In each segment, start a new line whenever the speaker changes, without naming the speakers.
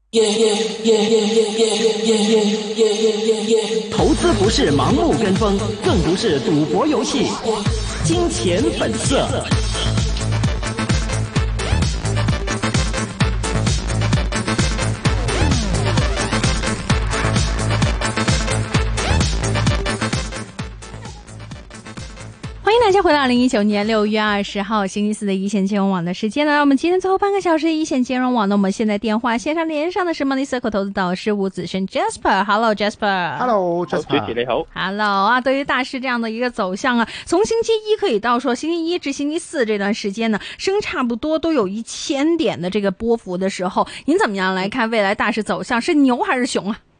投资不是盲目跟风，更不是赌博游戏。金钱本色。
欢迎大家回到2019年6月20号星期四的一线金融网的时间呢。我们今天最后半个小时一线金融网呢，我们现在电话线上连上的是 Money Circle 投资导师吴子轩 Jasper。Hello
Jasper。Hello
Jasper。主持你好。
Hello 啊，对于大市这样的一个走向啊，从星期一可以到说星期一至星期四这段时间呢，升差不多都有1000点的这个波幅的时候，您怎么样来看未来大市走向，是牛還是熊啊？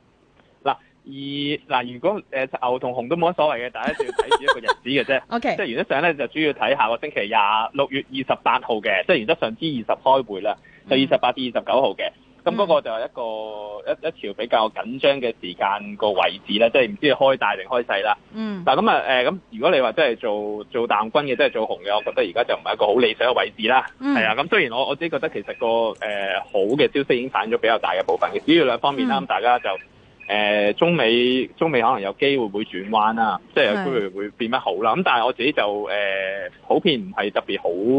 如果牛同熊都冇乜所謂嘅，大家就要睇住一個日子嘅啫。
OK，
即係原則上咧就主要睇下個星期6月28號嘅，即係原則上 G20 開會啦，就28至29號嘅。咁嗰個就係一條比較緊張嘅時間個位置啦，即係唔知係開大定開細啦。但係咁如果你話真係做淡軍嘅，即係做紅嘅，我覺得而家就唔係一個好理想嘅位置啦。係啊，咁雖然我自己覺得其實個好嘅消息已經反映咗比較大嘅部分嘅，主要兩方面啦，咁大家就。中美可能有機會會轉彎啦，即係有機會會變得好啦。咁但係我自己就普遍唔係特別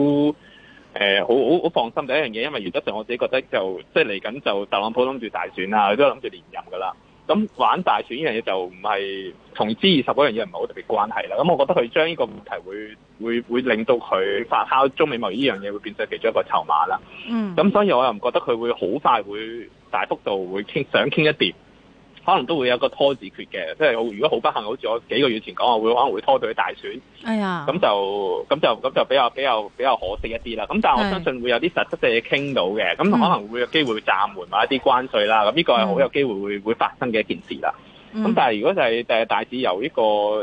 好放心第一樣嘢，因為原則上我自己覺得就即係嚟緊就特朗普諗住大選啦，佢都諗住連任㗎啦。咁玩大選呢樣嘢就唔係同 G20 嗰樣嘢唔係好特別關係啦。咁我覺得佢將呢個問題會令到佢發酵中美貿易呢樣嘢會變成其中一個籌碼啦。咁所以我又唔覺得佢會好快會大幅度會想傾一掂。可能都會有個拖字訣嘅，即係如果好不幸，好似我幾個月前講，我可能會拖到去大選。
哎呀，
咁就比較可惜一啲啦。咁但係我相信會有啲實質嘅嘢傾到嘅，咁可能會有機會暫緩埋一啲關稅啦。咁呢個係好有機會會發生嘅一件事啦。咁但係如果就係大市由呢個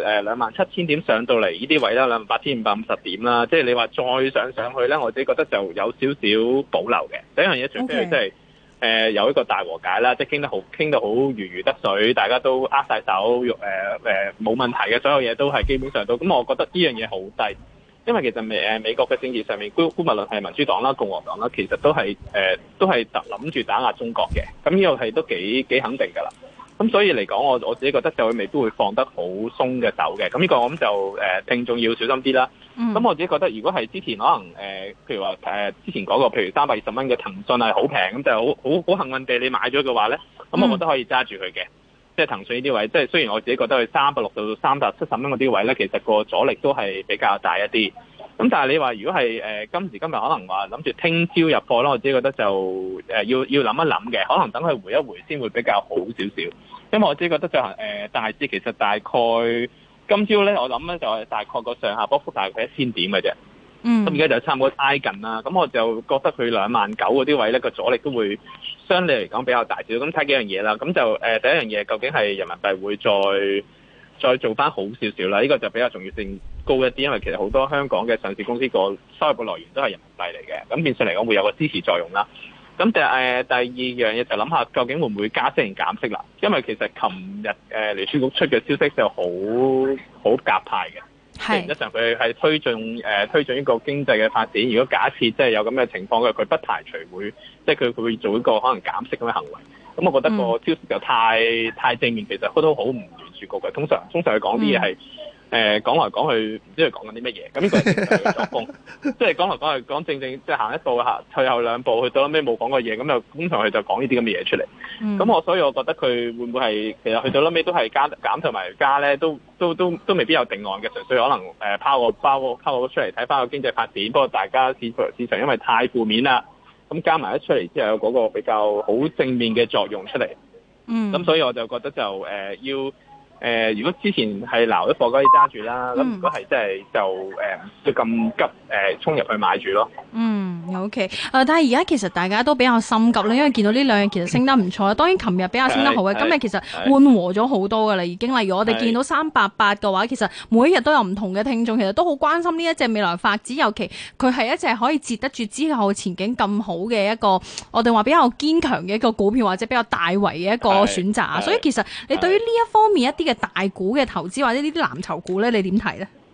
27,000點上到嚟呢啲位啦，28,550點啦，即係你話再上去咧，我自己覺得就有少少保留嘅。第一樣嘢，除非佢真係。有一個大和解啦，即係傾得好如魚得水，大家都握晒手，冇問題嘅，所有嘢都係基本上都咁，我覺得呢樣嘢好低，因為其實美國嘅政治上面，無論係民主黨啦、共和黨啦，其實都係諗住打壓中國嘅，咁呢個係都幾肯定㗎啦。咁所以嚟講，我自己覺得就未必會放得好鬆嘅手嘅。咁呢個我諗就聽眾要小心啲啦。咁我自己覺得，如果係之前可能譬如話之前講過，譬如320蚊嘅騰訊係好平，咁就好幸運地你買咗嘅話咧，咁我覺得可以揸住佢嘅。即係騰訊呢啲位，即係雖然我自己覺得佢360到370蚊嗰啲位咧，其實個阻力都係比較大一啲。咁但係你話如果係今時今日可能話諗住聽朝入貨啦，我自己覺得就要諗一諗嘅，可能等佢回一回先會比較好少少。因為我自己覺得就係大致其實大概今朝咧，我諗咧就係大概個上下波幅大概1000點嘅啫。咁而家就差唔多挨近啦。咁我就覺得佢29000嗰啲位咧，個阻力都會相對嚟講比較大少。咁睇幾樣嘢啦。咁就第一樣嘢究竟係人民幣會再做翻好少少啦。呢個就比較重要性高一啲，因為其實好多香港嘅上市公司個收入嘅來源都係人民幣嚟嘅。咁變相嚟講會有個支持作用啦。咁第二樣嘢就諗下究竟會唔會加息定減息啦？因為其實琴日聯儲局出嘅消息就好鴿派嘅。實質上佢係推進呢個經濟嘅發展。如果假設即係有咁嘅情況嘅，佢不排除會即係佢會做一個可能減息咁嘅行為。咁我覺得個消息就太正面，其實都好唔聯儲局嘅。通常佢講啲嘢係講來講去唔知佢講緊啲乜嘢。咁呢個係正常嘅作風，即係講來講去講正即係行一步退後兩步，去到尾冇講過嘢，咁就通常佢就講呢啲咁嘅嘢出嚟。咁所以我覺得佢會唔會係其實去到尾都係減同埋加咧，都未必有定案嘅，純粹可能拋個出嚟睇翻個經濟發展。不過大家市場因為太負面啦，咁加埋一出嚟之後有嗰個比較好正面嘅作用出嚟。咁所以我就覺得就如果之前係撈咗貨可以揸住啦，咁如果係真係就咁急衝入去買住咯。
OK， 但係而家其實大家都比較心急啦，因為見到呢兩日其實升得唔錯。當然琴日比較升得好嘅，今日其實緩和咗好多㗎啦，已經。例如我哋見到388嘅話，其實每一日都有唔同嘅聽眾，其實都好關心呢一隻未來發展，尤其佢係一隻可以接得住之後前景咁好嘅一個，我哋話比較堅強嘅一個股票，或者比較大圍嘅一個選擇。所以其實你對於呢一方面一啲嘅大股嘅投資或者呢啲藍籌股咧，你點睇咧？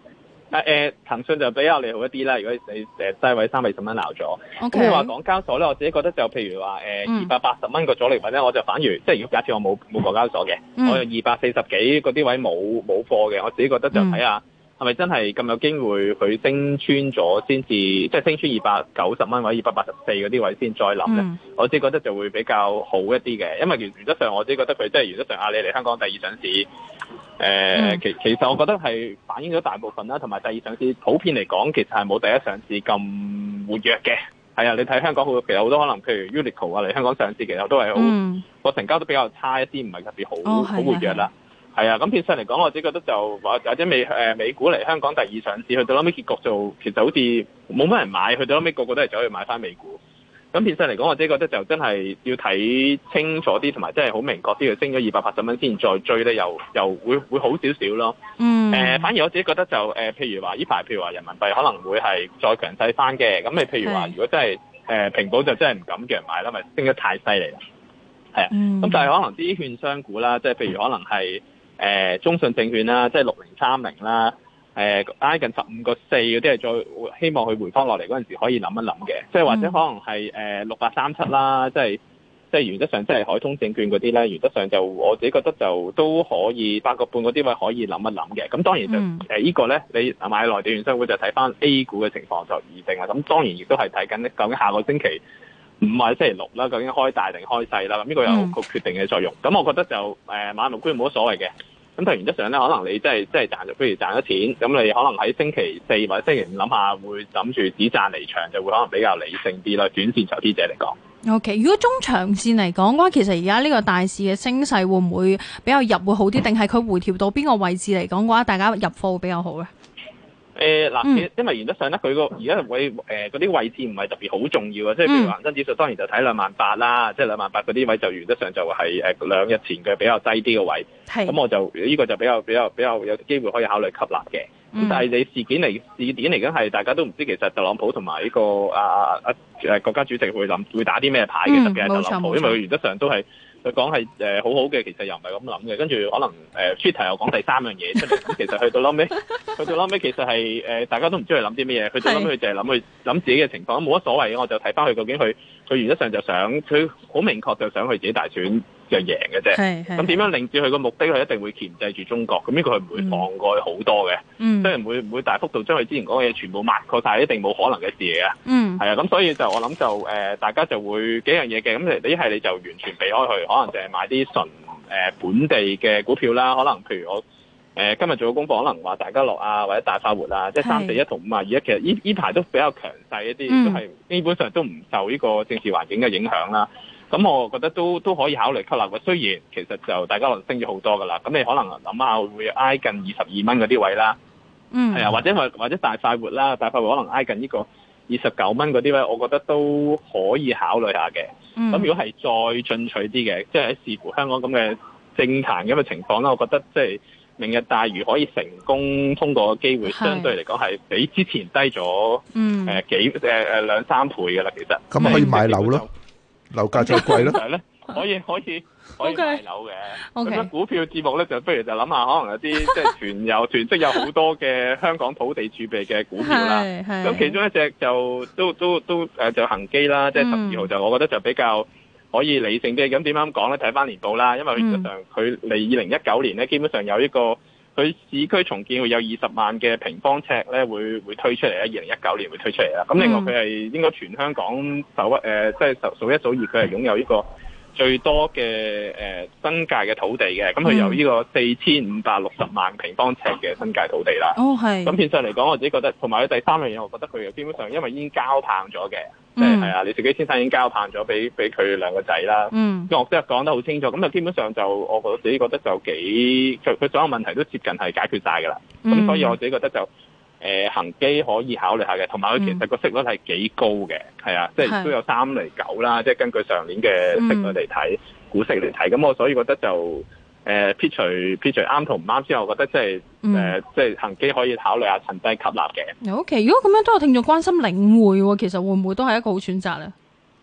騰訊就比較利好一啲啦。如果你低位320蚊鬧咗，咁
Okay.
你話港交所咧，我自己覺得就譬如話280蚊個阻力位咧，我就反而即係如果假設我冇港交所嘅，我有240幾嗰啲位冇貨嘅，我自己覺得就睇下係咪真係咁有機會佢升穿咗先至，即係升穿290蚊或者284嗰啲位先再諗咧。我自己覺得就會比較好一啲嘅，因為原則上我自己覺得佢即係原則上你嚟香港第二上市，其實我覺得係反映咗大部分啦，同埋第二上市普遍嚟講，其實係冇第一上市咁活躍嘅。係啊，你睇香港其實好多可能，譬如 Uniqlo 啊嚟香港上市，其實都係好個成交都比較差一啲，唔係特別好活躍啦。係啊，咁變相嚟講，我自己覺得就或者美股嚟香港第二上市，去到後尾結局就其實好似冇乜人買，去到後尾個個都係走去買翻美股。咁變相嚟講，我自己覺得就真係要睇清楚啲，同埋真係好明確啲，佢升咗280蚊先再追咧，又會好少少咯。反而我自己覺得就譬如話呢排，譬如話人民幣可能會係再強勢翻嘅。咁你譬如話，如果真係平保就真係唔敢叫人買啦，咪升得太犀利啦。係啊，咁但係可能啲券商股啦，即係譬如可能係中信證券啦，即係6030啦。挨近15.4嗰啲係再希望佢回翻落嚟嗰陣時可以諗一諗嘅，即係或者可能係6837啦，即係原則上即係海通證券嗰啲咧，原則上就我自己覺得就都可以8個半嗰啲位可以諗一諗嘅。咁當然就呢個咧，你買內地券商會就睇翻 A 股嘅情況就而定啦。咁當然亦都係睇緊究竟下個星期5或者星期6啦，究竟開大定開細啦。咁呢個有個決定嘅作用。咁我覺得就買賣股冇乜所謂嘅。咁但係原則上咧，可能你真係賺咗，譬如賺咗錢，咁你可能喺星期4或者星期5諗下，會諗住止賺離場，就會可能比較理性啲啦。短線投資者嚟講
，OK。如果中長線嚟講嘅話，其實而家呢個大市嘅升勢會唔會比較入會好啲，定係佢回調到邊個位置嚟講嘅話，大家入貨會比較好咧？
因為原則上咧，佢而家嗰啲位置唔係特別好重要啊，即係譬如恒生指數當然就睇28,000啦，即係28,000嗰啲位就原則上就係2日前嘅比較低啲嘅位，咁我就呢個就比較有機會可以考慮吸納嘅。咁但係你事件嚟緊係大家都唔知其實特朗普同埋呢個國家主席會打啲咩牌嘅，特別係特朗普，因為佢原則上都係。佢講係好好嘅，其實又唔係咁諗嘅。跟住可能Twitter 又講第3樣嘢出嚟，咁其實去到後尾其實係大家都唔知佢諗啲咩嘢。去到後尾佢就係諗自己嘅情況，冇乜所謂嘅。我就睇翻佢究竟佢原則上就想佢好明確就想佢自己大選就贏嘅啫。咁點樣令至佢個目的佢一定會鉗制住中國，咁呢個佢唔會放過佢好多嘅，即係唔會大幅度將佢之前講嘅嘢全部抹過晒，一定冇可能嘅事嚟嘅。係啊，咁所以就我諗就大家就會幾樣嘢嘅。咁你一係你就完全避開佢，可能就係買啲純本地嘅股票啦。可能譬如我今日做個功課，可能話大家樂啊或者大快活啊，即係341同521，其實呢排都比較強勢一啲，都係基本上都唔受呢個政治環境嘅影響啦。咁我覺得都可以考慮吸納嘅。雖然其實就大家樂升咗好多噶啦，咁你可能諗下會挨近22蚊嗰啲位啦。係啊，或者大快活啦，大快活可能挨近呢個29蚊嗰啲位，我覺得都可以考慮下嘅。咁如果係再進取啲嘅，即係喺視乎香港咁嘅政壇咁嘅情況啦，我覺得即係明日大嶼可以成功通過嘅機會，相對嚟講係比之前低咗2-3倍嘅啦。其實
咁可以買樓咯。樓價再貴咯，
可以買樓嘅。咁樣股票節目咧，就不如就諗下，可能有啲即係囤積有好多嘅香港土地儲備嘅股票啦。咁其中一隻就就恒基啦，即係12號就我覺得就比較可以理性啲。咁點樣講咧？睇翻年報啦，因為實際上佢嚟2019年咧，基本上有呢個佢市區重建會有20萬嘅平方尺咧，會推出嚟啦。2019年會推出嚟啦。咁另外佢係應該全香港即係數一數二，佢係擁有呢個最多嘅新界嘅土地嘅。咁佢有呢個4560萬平方尺嘅新界土地啦。咁變相嚟講，我自己覺得，同埋佢第3樣嘢，我覺得佢基本上因為已經交棒咗嘅，即係係啊，李兆基先生已經交棒咗俾佢2個仔啦。咁我即係講得好清楚，咁就基本上就我自己覺得就佢所有問題都接近係解決晒㗎啦。咁所以我自己覺得就恒基可以考慮下嘅，同埋佢其實個息率係幾高嘅，係啊，即係都有3.9%啦，即係根據上年嘅息率嚟睇，股息嚟睇，咁我所以覺得就撇除啱同唔啱之後，我覺得即係恒基可以考慮下趁低吸納嘅。
OK， 如果咁樣都有聽眾關心領匯喎，其實會唔會都係一個好選擇咧？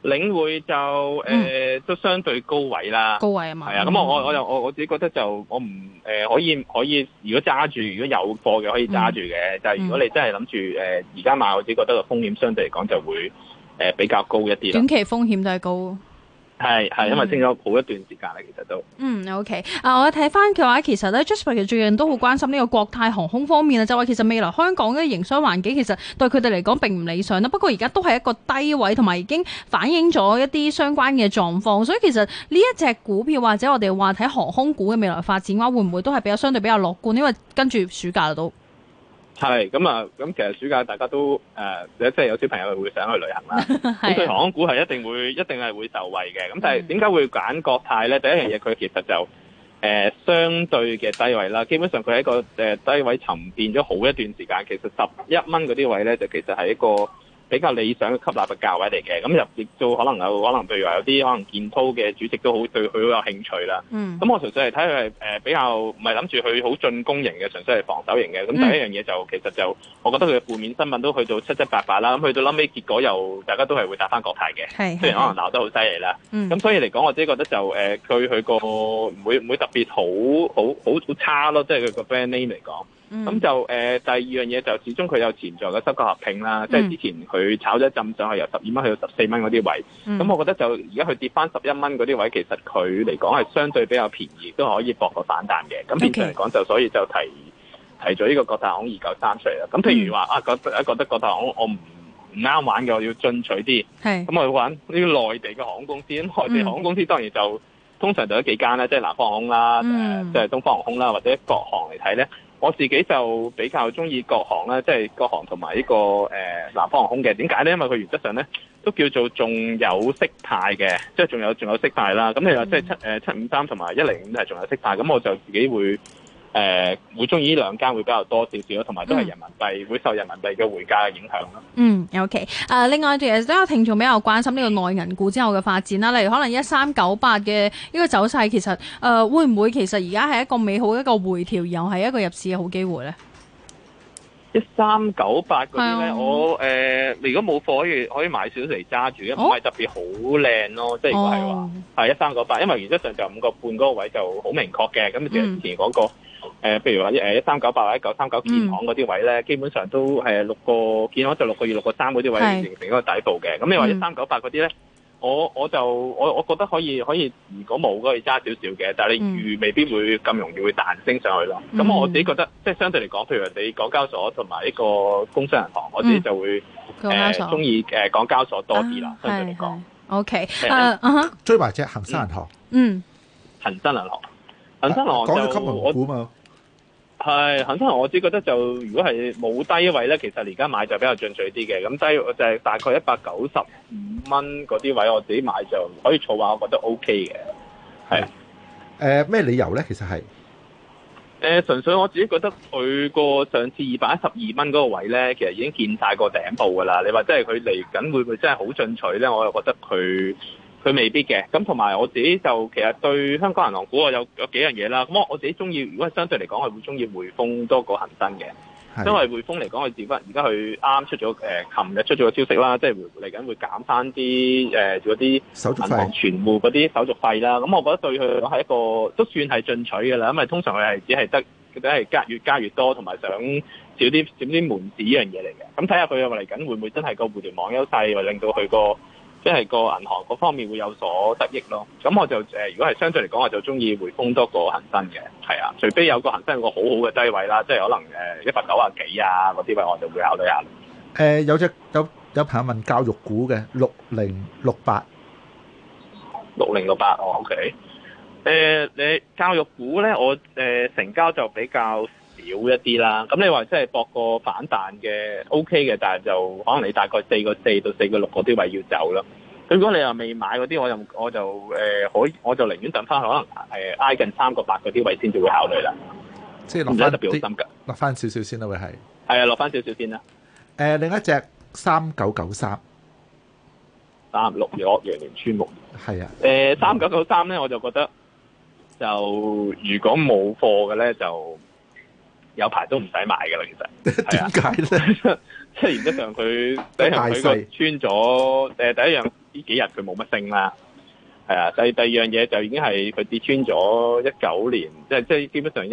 領匯就都相對高位啦，
高位啊嘛。
係啊，咁我自己覺得就我唔可以，如果揸住，如果有貨嘅可以揸住嘅，但係如果你真係諗住而家買，我自己覺得個風險相對嚟講就會比較高一啲啦。
短期風險都係高。
係，因為升咗好一段時間啦，其實都。
OK。我睇翻嘅話，其實咧 Jasper 最近都好關心呢個國泰航空方面啊，就話其實未來香港嘅營商環境其實對佢哋嚟講並唔理想啦。不過而家都係一個低位，同埋已經反映咗一啲相關嘅狀況。所以其實呢一隻股票或者我哋話睇航空股嘅未來發展嘅話，會唔會都係相對比較樂觀？因為跟住暑假都。係
咁其實暑假大家都即係有小朋友會想去旅行啦。咁對航空股係一定係會受惠嘅。咁但係點解會揀國泰咧？第一樣嘢佢其實就相對嘅低位啦。基本上佢喺一個低位沉澱咗好一段時間。其實11蚊嗰啲位咧，就其實係一個比較理想嘅吸納嘅價位嚟嘅。咁亦都可能譬如話有啲可能建滔嘅主席都好對佢好有興趣啦。咁我純粹係睇佢係比較唔係諗住佢好進攻型嘅，純粹係防守型嘅。咁第一樣嘢就其實就我覺得佢嘅負面新聞都去到七七八八啦。咁去到臨尾結果又大家都係會打翻國泰嘅，雖然可能鬧得好犀利啦。咁所以嚟講，我自己覺得就佢個唔會特別好差咯，即係佢個 brand name 嚟講。咁就第二樣嘢就始終佢有潛在嘅收購合併啦，即係之前佢炒咗一陣上去由12蚊去到14蚊嗰啲位，咁我覺得就而家佢跌翻11蚊嗰啲位，其實佢嚟講係相對比較便宜，都可以搏個反彈嘅。咁變相嚟講就所以就提咗呢個國泰航空293出嚟啦。咁譬如話覺得國泰航空我唔啱玩嘅，我要進取啲，咁我要玩呢啲內地嘅航空公司。咁內地航空公司當然就通常就有幾間啦，即係南方航空啦，即係東方航空啦，或者國航嚟睇咧。我自己就比較中意國航啦，即係國航同埋呢個南方航空嘅。點解咧？因為佢原則上咧都叫做仲有息派嘅，即係仲有息派啦。咁你話即係753同埋105係仲有息派，咁我就自己會中意呢兩間會比較多少少，同埋都係人民幣會受人民幣嘅匯價嘅影響咯。
OK。另外其實都有聽眾比較關心呢個內銀股之後嘅發展啦，例如可能1398嘅呢個走勢，其實會唔會其實而家係一個美好一個回調，又係一個入市嘅好機會咧
？1398嗰啲咧，我如果冇貨可以買少少嚟揸住，唔係特別好靚咯。即係如果係話係1398，因為原則上就5個半嗰個位就好明確嘅。咁其實之前講過。譬如話1398或者939建行嗰啲位咧，基本上都係6個建行就6個2、6個3嗰啲位形成一個底部嘅。咁你話1398嗰啲咧，我覺得可以，如果冇可以揸少少嘅，但係你預未必會咁容易會彈升上去咯。咁我自己覺得，即係相對嚟講，譬如你港交所同埋呢個工商銀行，我自己就會中意港交所多啲啦。相對嚟講
，OK。
追埋隻恒生銀行。
恒生銀行。恒生銀行
講咗金融股嘛，
係恒生銀行，我只覺得就如果係冇低位咧，其實而家買就比較進取啲嘅。咁低就係大概195蚊嗰啲位，我自己買就可以儲下，我覺得 OK 嘅。係
咩理由咧？其實係
純粹我自己覺得佢個上次212蚊嗰個位咧，其實已經見晒個頂部㗎啦。你話即係佢嚟緊會唔會真係好進取咧？我又覺得佢未必嘅。咁同埋我自己就其實對香港銀行股我有幾樣嘢啦。咁我自己中意，如果係相對嚟講，我會中意匯豐多過恒生嘅。因為匯豐嚟講，佢而家佢啱出咗琴日出咗個消息啦，即係嚟緊會減翻啲嗰啲銀行存戶嗰啲手續費啦。咁我覺得對佢係一個都算係進取嘅啦。因為通常佢係只係得越加越多，同埋想少啲門市呢樣嘢嚟嘅。咁睇下佢嚟緊會唔會真係個互聯網優勢，或令到佢個即係個銀行嗰方面會有所得益咯。咁我就如果係相對嚟講，我就中意匯豐多過恒生嘅。係啊，除非有個恒生有個好好嘅低位啦，即係可能190幾啊嗰啲位，我就會考慮下。
有朋友問教育股嘅6068，
哦 OK。你教育股咧，我成交就比較少一啲啦。咁你話即係搏個反彈嘅 OK 嘅，但係就可能你大概4個4到4個6嗰啲位要走啦。如果你又未買嗰啲，我就寧願等翻可能挨近3個8嗰啲位先至會考慮啦。
即係落翻
特別好心㗎，
落翻少少先啦，會係。
係啊，落翻少少先啦。
另一隻3993，36
陽聯村木。
係啊。
3993咧，我就覺得就如果冇貨嘅咧，就有排都唔使買㗎啦。其實點解咧？即係原則上佢個穿咗第一樣幾日佢冇乜升啦。係啊，第二樣嘢就已經係佢跌穿咗19年，即係基本上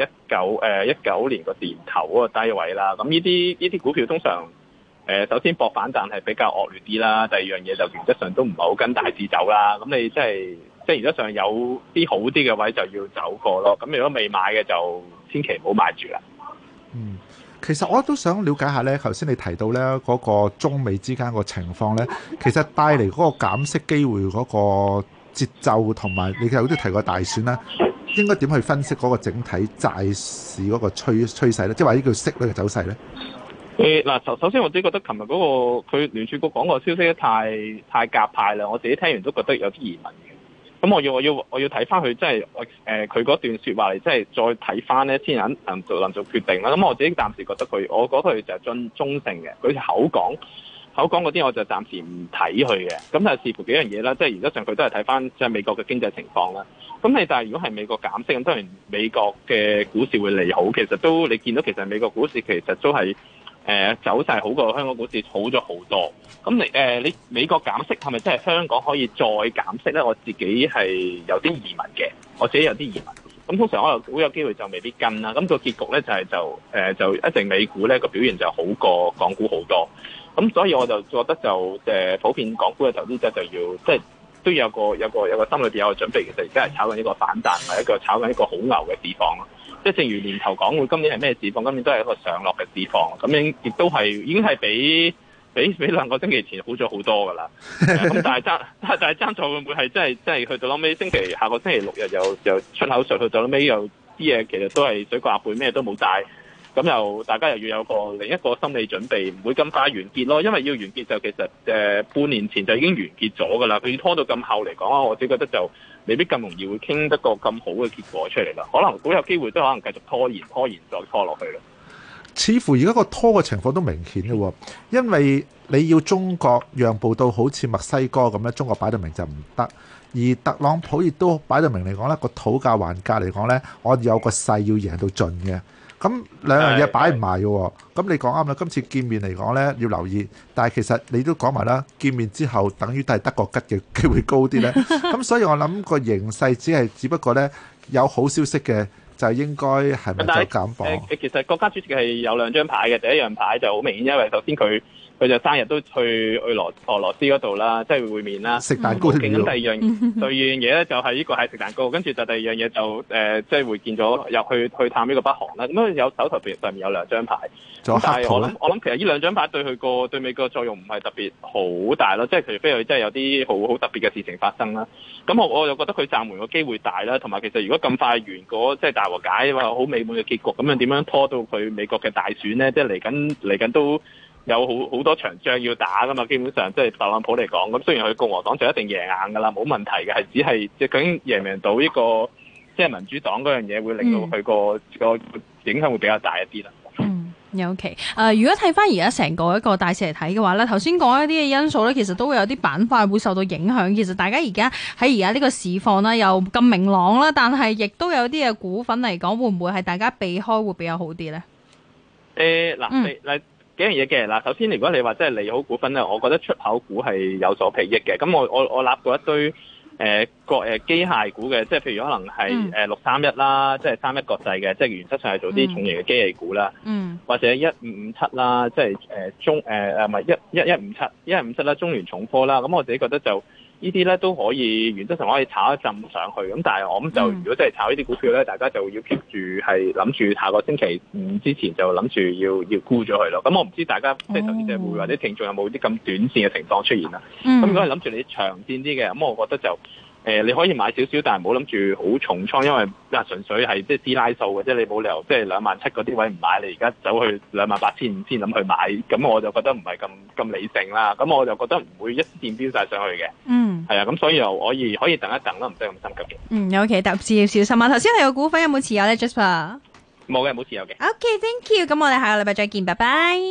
19年個年頭嗰個低位啦。咁呢啲股票通常首先搏反彈係比較惡劣啲啦。第二樣嘢就原則上都唔係好跟大市走啦。咁你即係原則上有啲好啲嘅位就要走過咯。咁如果未買嘅就千祈唔好買住啦。
其實我都想了解下咧，頭先你提到咧嗰個中美之間個情況咧，其實帶嚟嗰個減息機會嗰個節奏同埋，你有啲提過大選啦，應該點去分析嗰個整體債市嗰個趨勢咧？即係話呢叫息率嘅走勢咧？
嗱，首先我自己覺得琴日嗰個佢聯儲局講個消息太鴿派啦，我自己聽完都覺得有啲疑問嘅。咁我要睇翻佢，即係佢嗰段説話嚟，即係再睇翻咧，先能做決定啦。咁我自己暫時覺得我覺得佢就係中性嘅。佢口講嗰啲，我就暫時唔睇佢嘅。咁就視乎幾樣嘢啦，即係原則上佢都係睇翻即係美國嘅經濟情況啦。咁但係如果係美國減息，咁當然美國嘅股市會利好。其實都你見到其實美國股市其實都係走勢好過香港股市好咗好多。咁你美國減息係咪真係香港可以再減息咧？我自己係有啲疑問嘅，我自己有啲疑問。咁通常可能好有機會就未必跟啦。咁個結局咧就一定美股咧個表現就好過港股好多。咁所以我就覺得就普遍港股嘅投資者就要即係都有個心裏邊有個準備。其實而家係炒緊一個反彈，係一個炒緊一個好牛嘅市況咯。即係正如年頭港股今年係咩市況？今年都係一個上落嘅市況。咁樣亦都係已經係比2個星期前好咗好多㗎啦。咁但係爭在會唔會係真係去到後尾下個星期6日又出口術，去到後尾又啲嘢其實都係水過鴨背，咩都冇帶。咁又大家又要有另一個心理準備，唔會咁快完結咯。因為要完結就其實半年前就已經完結咗㗎啦。佢拖到咁後嚟講，我自己覺得就未必咁容易會傾得個咁好嘅結果出嚟啦。可能好有機會都可能繼續拖延再拖落去啦。
似乎而家個拖嘅情況都明顯嘅喎，因為你要中國讓步到好似墨西哥咁咧，中國擺到明就唔得。而特朗普亦都擺到明嚟講咧，個討價還價嚟講咧，我有個勢要贏到盡嘅。咁兩樣嘢擺唔埋嘅喎，咁你講啱啦。今次見面嚟講咧，要留意，但係其實你都講埋啦，見面之後等於都係得個吉嘅機會高啲咧。咁所以我諗個形勢只不過咧有好消息嘅就應該係咪就減磅？
其實國家主席係有兩張牌嘅，第一樣牌就好明顯，因為首先佢就生日都去俄羅斯嗰度啦，即係會面啦，
食蛋糕。咁
第二樣嘢咧就係呢個係食蛋糕，跟住就第二樣嘢就即係會見咗入去探呢個北韓啦。咁有手頭上面有兩張牌，但係我諗其實呢兩張牌對美國作用唔係特別好大咯，即係除非佢真係有啲好特別嘅事情發生啦。咁我就覺得佢暫緩個機會大啦，同埋其實如果咁快完嗰即係大和解話好美滿嘅結局，咁樣點樣拖到佢美國嘅大選咧？即係嚟緊都有好多場仗要打噶嘛，基本上即係特朗普嚟講，咁雖然佢共和黨就一定贏硬噶啦，冇問題嘅，係只係即係究竟贏唔贏到呢個即係民主黨嗰樣嘢，會令到佢個影響會比較大一啲啦。
OK，如果睇翻而家成個一個大市嚟睇嘅話咧，頭先講一啲嘅因素咧，其實都會有啲板塊會受到影響。其實大家而家呢個市況咧又咁明朗啦，但係亦都有啲嘅股份嚟講，會唔會係大家避開會比較好啲咧？
嗱幾樣嘢嘅嗱，首先如果你話真係利好股份咧，我覺得出口股係有所裨益嘅。咁我立過一堆機械股嘅，即係譬如可能係631啦，即係31國際嘅，即係原則上係做啲重型嘅機器股啦，或者1557啦，即係1157啦，中聯重科啦。咁我自己覺得就呢啲咧都可以原則上可以炒一陣上去。咁但係我諗就如果真係炒呢啲股票咧，大家就要 keep 住係諗住下個星期5之前就諗住要沽咗佢咯。咁我唔知大家即係投資者會或者聽眾有冇啲咁短線嘅情況出現啦。咁如果係諗住你長線啲嘅，咁我覺得就你可以買少少，但係唔好諗住好重倉，因為純粹係即係師奶數嘅啫。你冇理由即係27000嗰啲位唔買，你而家走去28500先諗去買，咁我就覺得唔係咁理性啦。咁我就覺得唔會一線飆晒上去嘅。係啊，咁所以又可以等一等啦，唔使咁心急嘅。
OK， 特別要小心啊！頭先你個股份有冇持有咧 ，Jasper？
冇嘅，冇持有嘅。
OK，thank you。咁我哋下個禮拜再見，拜拜。